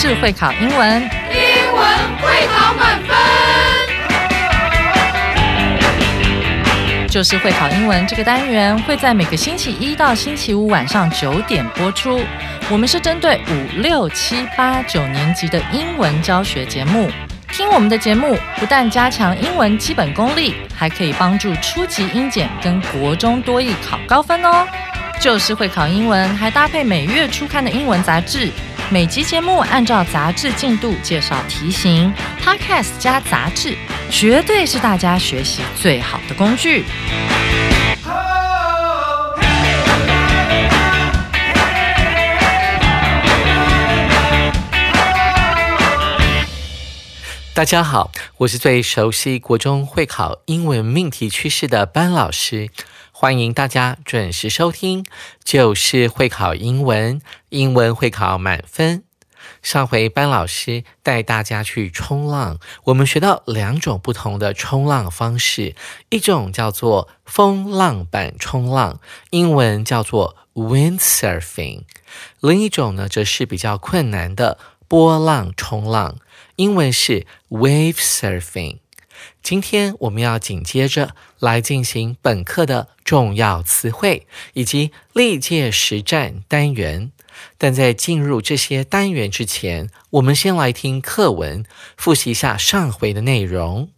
就是会考英文， 英文会考满分。 就是会考英文这个单元会在每个星期一到星期五晚上9点播出。我们是针对5、6、7、8、9年级的英文教学节目。听我们的节目，不但加强英文基本功力，还可以帮助初级英检跟国中多益考高分哦。就是会考英文，还搭配每月初刊的英文杂志。每集节目按照杂志进度介绍题型 ，Podcast 加杂志，绝对是大家学习最好的工具。 大家好，我是最熟悉国中会考英文命题趋势的班老师，欢迎大家准时收听，就是会考英文，英文会考满分。上回班老师带大家去冲浪，我们学到2种不同的冲浪方式，一种叫做风浪板冲浪，英文叫做 windsurfing， 另一种呢则是比较困难的波浪冲浪，英文是 wave surfing。 今天我们要紧接着来进行本课的重要词汇以及历届实战单元，但在进入这些单元之前，我们先来听课文，复习一下上回的内容。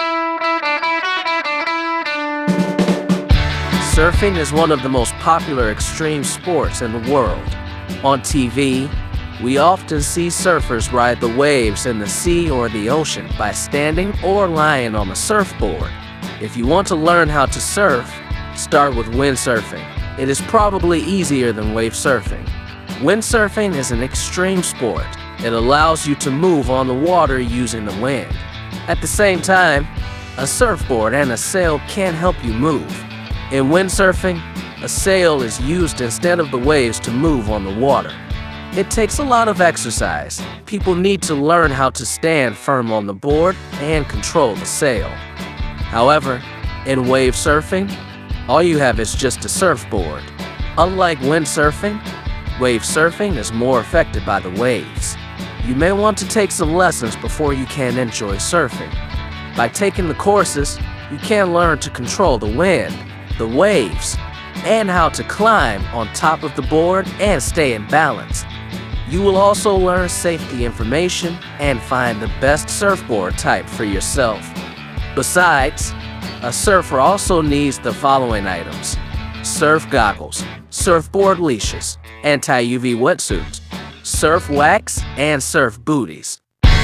Surfing is one of the most popular extreme sports in the world. On TV, we often see surfers ride the waves in the sea or the ocean by standing or lying on the surfboard. If you want to learn how to surf, start with windsurfing. It is probably easier than wave surfing. Windsurfing is an extreme sport. It allows you to move on the water using the wind. At the same time, a surfboard and a sail can help you move. In windsurfing, a sail is used instead of the waves to move on the water. It takes a lot of exercise. People need to learn how to stand firm on the board and control the sail. However, in wave surfing, all you have is just a surfboard. Unlike windsurfing, wave surfing is more affected by the waves. You may want to take some lessons before you can enjoy surfing. By taking the courses, you can learn to control the wind, the waves, and how to climb on top of the board and stay in balance. You will also learn safety information and find the best surfboard type for yourself. Besides, a surfer also needs the following items: surf goggles, surfboard leashes, anti-UV wetsuits, surf wax, and surf booties.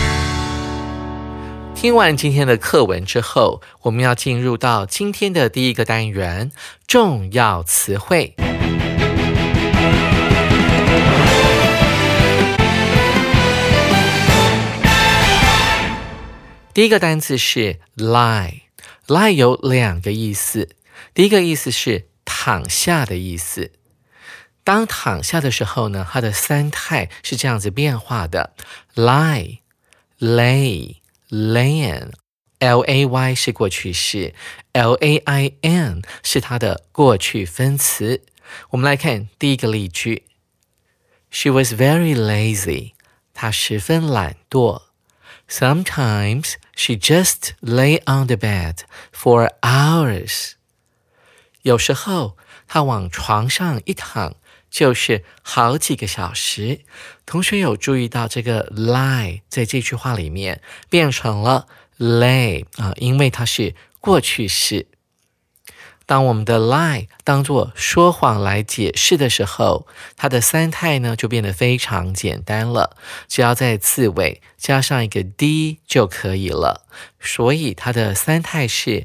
听完今天的课文之后，我们要进入到今天的第一个单元，重要词汇。第一个单字是 lie。lie 有2个意思，第一个意思是躺下的意思。当躺下的时候呢，它的3态是这样子变化的 lie、lay、lain。 lay 是过去式， lain 是它的过去分词。我们来看第一个例句， She was very lazy， 她十分懒惰。Sometimes she just lay on the bed for hours. 有时候她往床上一躺就是好几个小时。同学有注意到这个 lie 在这句话里面变成了 lay 因为它是过去式。当我们的 lie 当作说谎来解释的时候，它的3态呢就变得非常简单了，只要在字尾加上一个 d 就可以了。所以它的3态是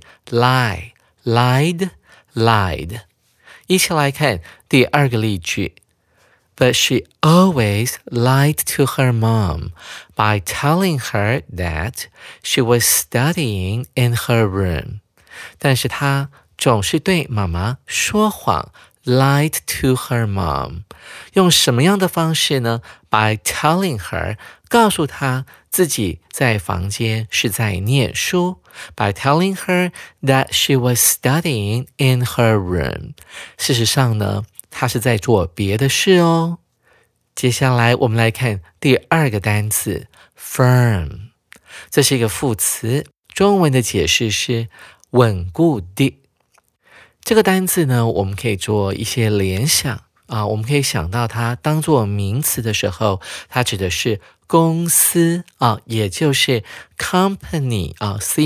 lie、lied、lied。一起来看第2个例句。But she always lied to her mom by telling her that she was studying in her room. 但是她总是对妈妈说谎 lied to her mom。 用什么样的方式呢？ By telling her 告诉她自己在房间是在念书， By telling her that she was studying in her room。 事实上呢，她是在做别的事哦。 接下来我们来看第二个单词 firm， 这是一个副词，中文的解释是稳固的。这个单字呢，我们可以做一些联想我们可以想到它当作名词的时候，它指的是公司也就是 company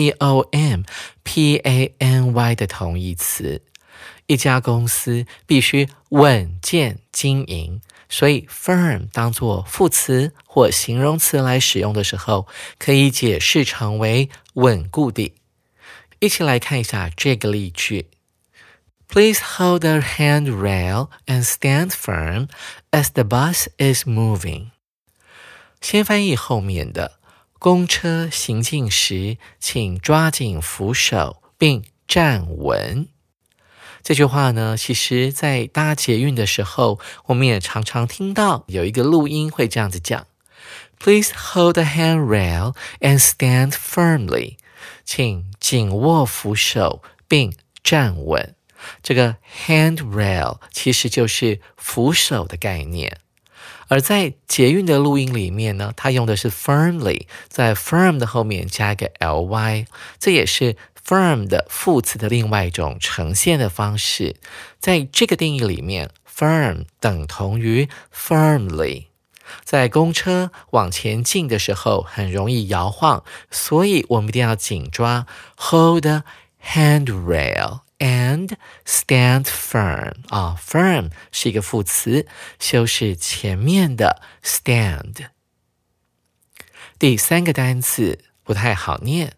C-O-M-P-A-N-Y 的同义词。一家公司必须稳健经营，所以 firm 当作副词或形容词来使用的时候，可以解释成为稳固的。一起来看一下这个例句。Please hold the handrail and stand firm as the bus is moving. 先翻译后面的，公车行进时，请抓紧扶手并站稳。这句话呢，其实在搭捷运的时候，我们也常常听到有一个录音会这样子讲 Please hold the handrail and stand firmly. 请紧握扶手并站稳。这个 handrail 其实就是扶手的概念。而在捷运的录音里面呢，它用的是 firmly， 在 firm 的后面加一个 ly， 这也是firm 的副词的另外一种呈现的方式。在这个定义里面 firm 等同于 firmly。 在公车往前进的时候很容易摇晃，所以我们一定要紧抓 hold the handrail and stand firm firm 是一个副词，修饰前面的 stand。 第三个单词不太好念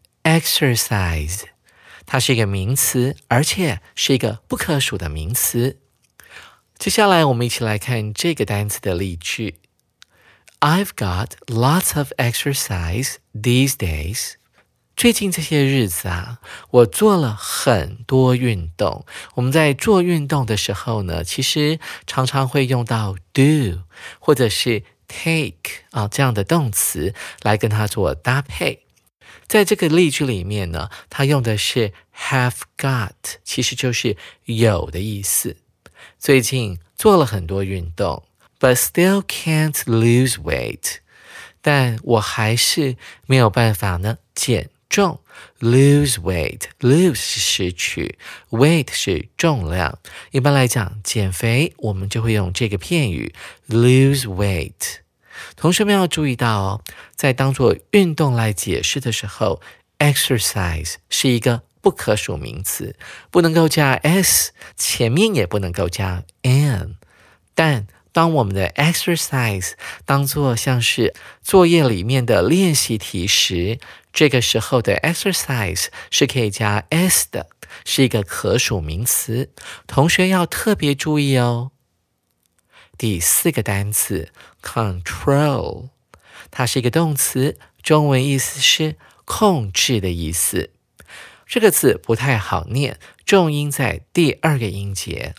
exercise， 它是一个名词，而且是一个不可数的名词。接下来我们一起来看这个单词的例句。I've got lots of exercise these days. 最近这些日子我做了很多运动。我们在做运动的时候呢，其实常常会用到 do 或者是 take 这样的动词来跟它做搭配。在这个例句里面呢，它用的是 have got， 其实就是有的意思。最近做了很多运动 but still can't lose weight， 但我还是没有办法呢减重。 lose weight， lose 是失去， weight 是重量。一般来讲减肥我们就会用这个片语 lose weight。同学们要注意到在当作运动来解释的时候 exercise 是一个不可数名词，不能够加 s， 前面也不能够加 n。 但当我们的 exercise 当作像是作业里面的练习题时，这个时候的 exercise 是可以加 s 的，是一个可数名词，同学要特别注意哦。第四个单词 control， 它是一个动词，中文意思是控制的意思。这个字不太好念，重音在第二个音节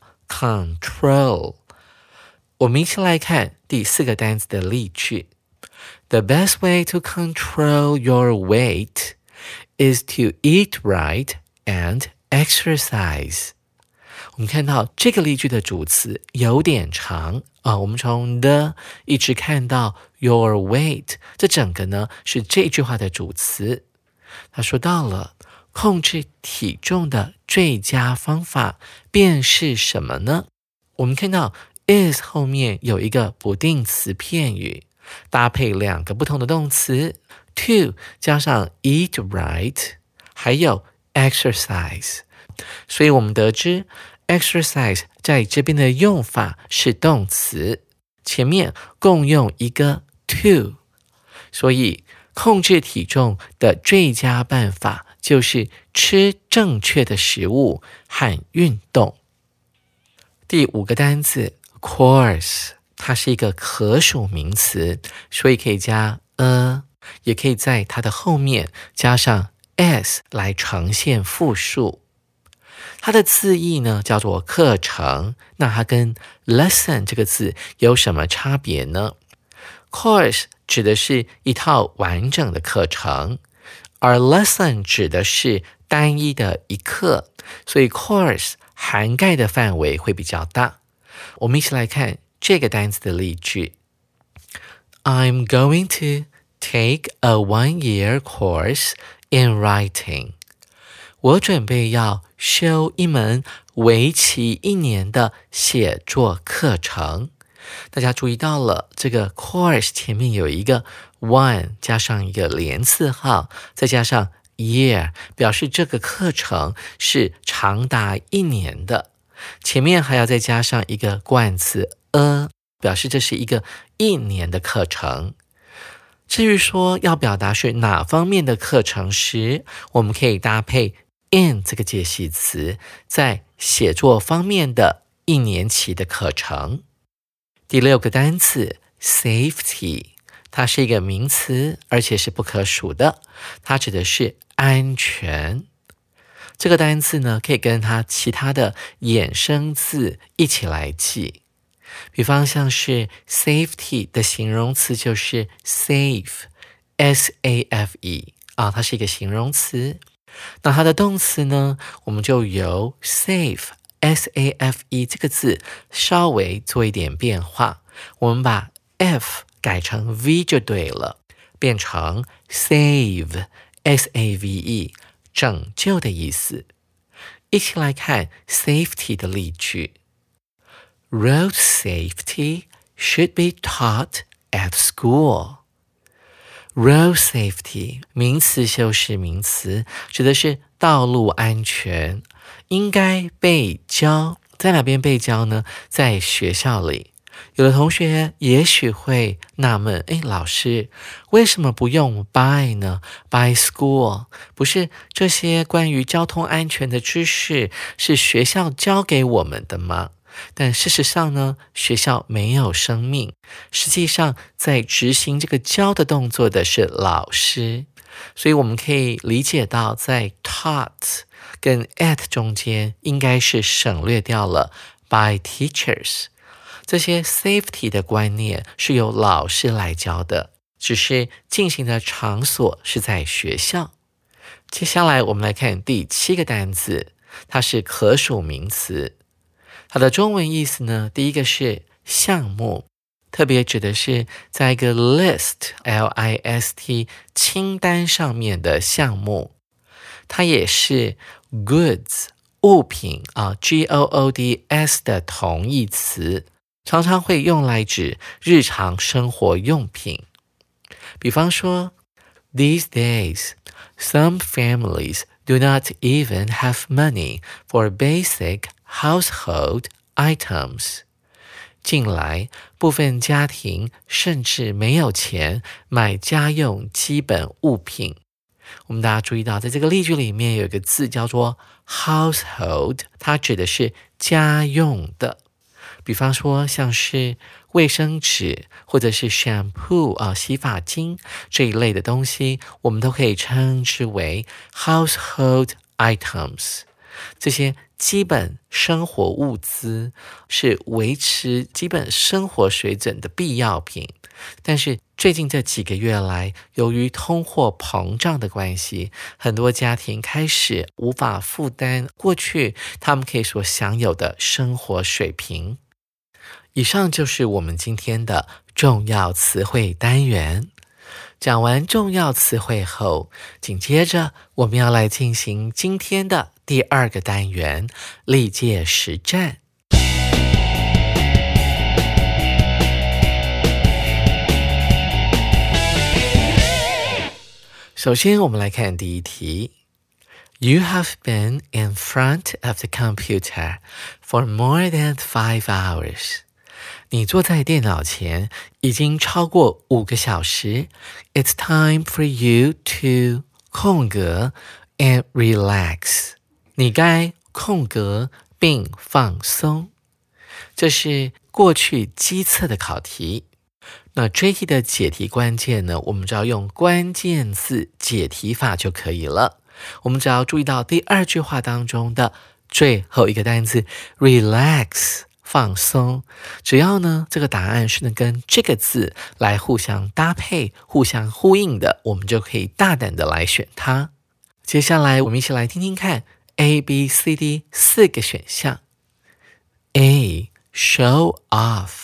control。 我们一起来看第四个单词的例句。 The best way to control your weight is to eat right and exercise。 我们看到这个例句的主词有点长我们从 the 一直看到 your weight， 这整个呢是这句话的主词。他说到了控制体重的最佳方法便是什么呢？我们看到 is 后面有一个不定词片语，搭配两个不同的动词 to 加上 eat right 还有 exercise， 所以我们得知 exercise 在这边的用法是动词，前面共用一个 to， 所以控制体重的最佳办法就是吃正确的食物和运动。第五个单字 course， 它是一个可数名词，所以可以加 a， 也可以在它的后面加上 s 来呈现复数。它的字义呢叫做课程，那它跟 lesson 这个字有什么差别呢？ course 指的是一套完整的课程，而 lesson 指的是单一的一课，所以 course 涵盖的范围会比较大。我们一起来看这个单词的例句。I'm going to take a one-year course in writing. 我准备要修一门为期1年的写作课程。大家注意到了，这个 course 前面有一个 one 加上一个连字号，再加上 year， 表示这个课程是长达1年的。前面还要再加上一个冠词 a， 表示这是一个1年的课程。至于说要表达是哪方面的课程时，我们可以搭配 in 这个介系词，在写作方面的1年期的课程。第6个单词 safety， 它是一个名词，而且是不可数的，它指的是安全。这个单词呢，可以跟它其他的衍生字一起来记。比方像是 safety 的形容词就是 safe， S-A-F-E 它是一个形容词。那它的动词呢，我们就由 safe S-A-F-E 这个字稍微做一点变化，我们把 F 改成 V 就对了，变成 save S-A-V-E 拯救的意思。一起来看 safety 的例句。Road safety should be taught at school. Road safety 名词修饰名词，指的是道路安全，应该被教。在哪边被教呢？在学校里。有的同学也许会纳闷，老师为什么不用 by 呢？ by school 不是这些关于交通安全的知识是学校教给我们的吗？但事实上呢，学校没有生命，实际上在执行这个教的动作的是老师。所以我们可以理解到，在 taught 跟 at 中间应该是省略掉了 by teachers。这些 safety 的观念是由老师来教的，只是进行的场所是在学校。接下来我们来看第7个单字，它是可数名词。它的中文意思呢，第一个是项目，特别指的是在一个 list L-I-S-T 清单上面的项目。它也是 goods 物品G-O-O-D-S 的同义词，常常会用来指日常生活用品。比方说 These days, some families do not even have money for basic household items. 近来，部分家庭甚至没有钱买家用基本物品。我们大家注意到，在这个例句里面有一个字叫做 household， 它指的是家用的。比方说像是卫生纸或者是 shampoo 洗发精这一类的东西，我们都可以称之为 household items。 这些基本生活物资是维持基本生活水准的必要品，但是最近这几个月来，由于通货膨胀的关系，很多家庭开始无法负担过去他们可以所享有的生活水平。以上就是我们今天的重要词汇单元。讲完重要词汇后，紧接着我们要来进行今天的第2个单元，历届实战。首先我们来看第一题。You have been in front of the computer for more than 5 hours. 你坐在电脑前已经超过5个小时。It's time for you to 空格 and relax. 你该空格并放松。这是过去机测的考题。那这一题的解题关键呢，我们只要用关键字解题法就可以了。我们只要注意到第2句话当中的最后一个单字 relax， 放松。只要呢这个答案是能跟这个字来互相搭配、互相呼应的，我们就可以大胆的来选它。接下来我们一起来听听看 A、B、C、D 4个选项。A. Show off，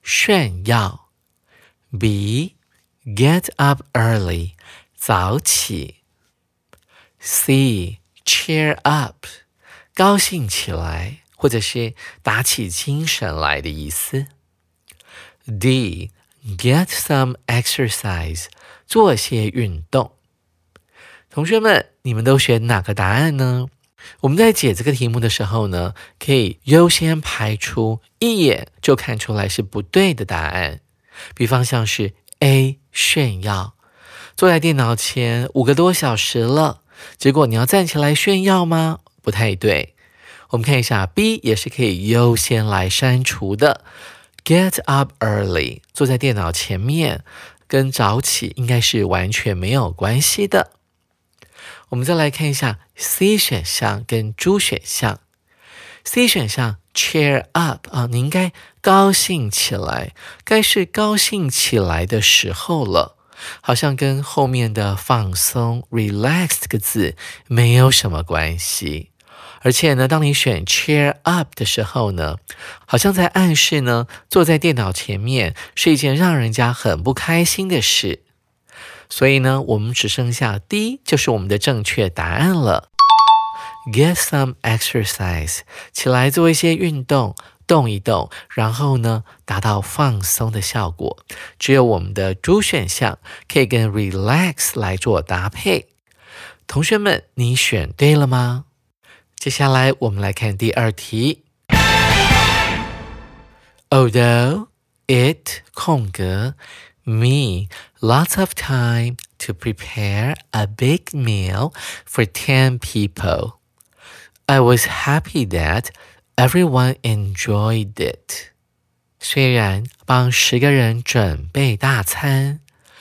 炫耀。B. Get up early. 早起。C. Cheer up. 高兴起来，或者是打起精神来的意思。D. Get some exercise. 做些运动。同学们，你们都选哪个答案呢？我们在解这个题目的时候呢，可以优先排除一眼就看出来是不对的答案。比方像是 A. 炫耀，坐在电脑前5个多小时了，结果你要站起来炫耀吗？不太对。我们看一下 B 也是可以优先来删除的。Get up early， 坐在电脑前面跟早起应该是完全没有关系的。我们再来看一下 C 选项跟 D 选项。C 选项 cheer up 你应该高兴起来，该是高兴起来的时候了，好像跟后面的放松 relax 这个字没有什么关系。而且呢，当你选 cheer up 的时候呢，好像在暗示呢，坐在电脑前面是一件让人家很不开心的事。所以呢，我们只剩下 D 就是我们的正确答案了。Get some exercise， 起来做一些运动，动一动，然后呢，达到放松的效果。只有我们的 D 选项可以跟 relax 来做搭配。同学们，你选对了吗？接下来我们来看第二题。Although it me lots of time to prepare a big meal for 10 people. I was happy that everyone enjoyed it. 虽然帮10个人准备大餐，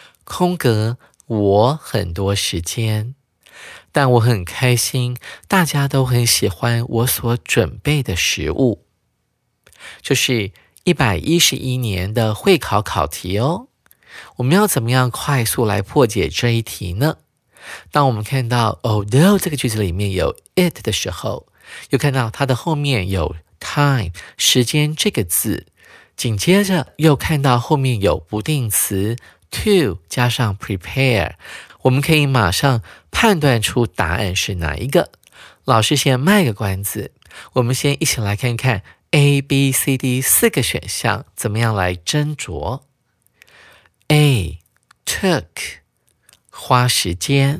我很多时间，但我很开心，大家都很喜欢我所准备的食物。这是111年的会考考题哦。我们要怎么样快速来破解这一题呢？当我们看到 although 这个句子里面有 it 的时候，又看到它的后面有 time 时间这个字，紧接着又看到后面有不定词 to 加上 prepare， 我们可以马上判断出答案是哪一个。老师先卖个关子，我们先一起来看看 A、B、C、D 4个选项怎么样来斟酌。A. Took 花时间。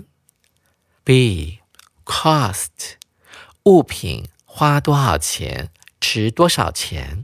B. Cost 物品花多少钱，值多少钱。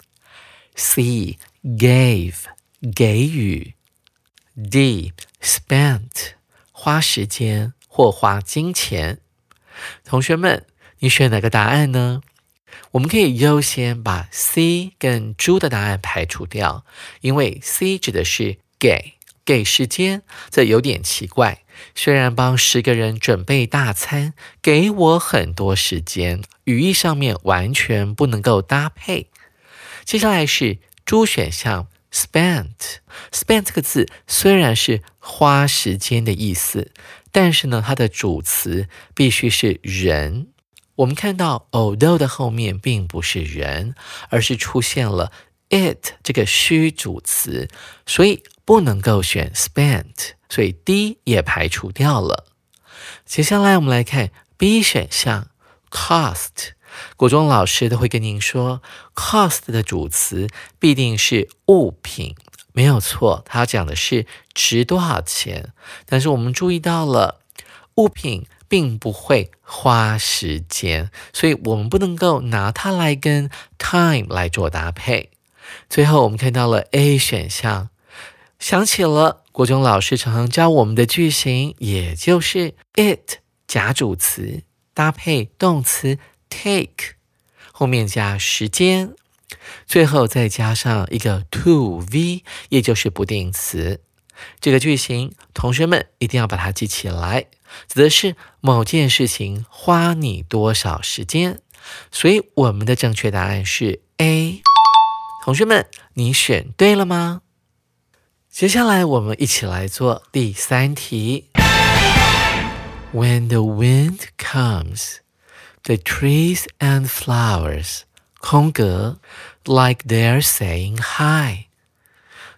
C. Gave 给予。 D. Spent 花时间或花金钱。同学们，你选哪个答案呢？我们可以优先把 C 跟 D 的答案排除掉，因为 C 指的是给时间，这有点奇怪。虽然帮10个人准备大餐，给我很多时间，语义上面完全不能够搭配。接下来是 D 选项 spent 这个字虽然是花时间的意思，但是呢，它的主词必须是人。我们看到 although 的后面并不是人，而是出现了 it 这个虚主词，所以不能够选 spent， 所以 D 也排除掉了。接下来我们来看 B 选项 cost。 国中老师都会跟您说 cost 的主词必定是物品，没有错，它讲的是值多少钱。但是我们注意到了物品并不会花时间，所以我们不能够拿它来跟 time 来做搭配。最后我们看到了 A 选项，想起了国中老师常常教我们的句型，也就是 it 假主词搭配动词 take， 后面加时间，最后再加上一个 to V， 也就是不定词。这个句型同学们一定要把它记起来，指的是某件事情花你多少时间，所以我们的正确答案是 A。 同学们，你选对了吗？接下来我们一起来做第3题。 When the wind comes, the trees and flowers, like they're saying hi,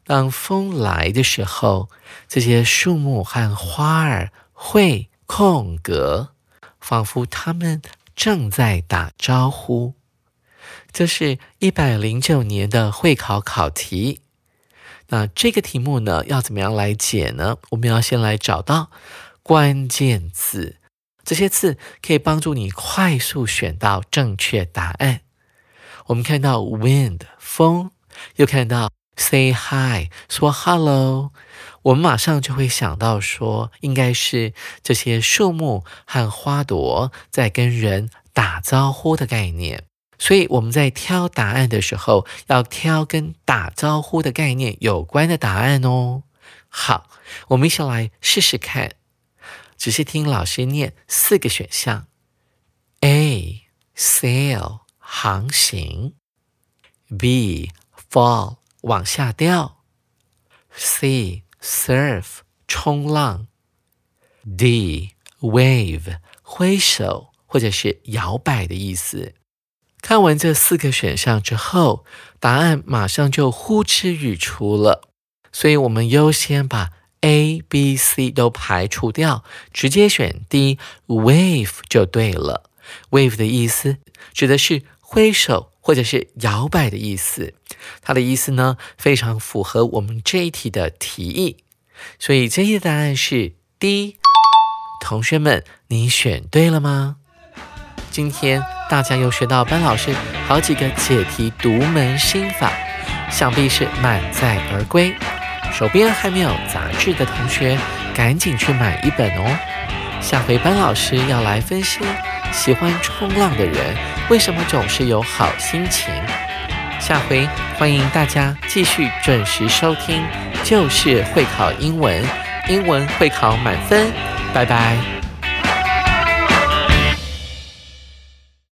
当风来的时候，这些树木和花儿会空格，仿佛它们正在打招呼。这是109年的会考考题。那这个题目呢，要怎么样来解呢？我们要先来找到关键字，这些字可以帮助你快速选到正确答案。我们看到 wind 风，又看到 say hi 说 hello， 我们马上就会想到说，应该是这些树木和花朵在跟人打招呼的概念。所以我们在挑答案的时候，要挑跟打招呼的概念有关的答案哦。好，我们一起来试试看，只是听老师念4个选项。 A. sail 航行， B. fall 往下掉， C. surf 冲浪， D. wave 挥手或者是摇摆的意思。看完这4个选项之后，答案马上就呼之欲出了，所以我们优先把 A、B、C 都排除掉，直接选 D wave 就对了。 wave 的意思指的是挥手或者是摇摆的意思，它的意思呢非常符合我们这一题的题意，所以这一题的答案是 D。 同学们，你选对了吗？今天大家又学到班老师好几个解题独门心法，想必是满载而归。手边还没有杂志的同学，赶紧去买一本哦。下回班老师要来分析喜欢冲浪的人为什么总是有好心情。下回欢迎大家继续准时收听，就是会考英文，英文会考满分。拜拜。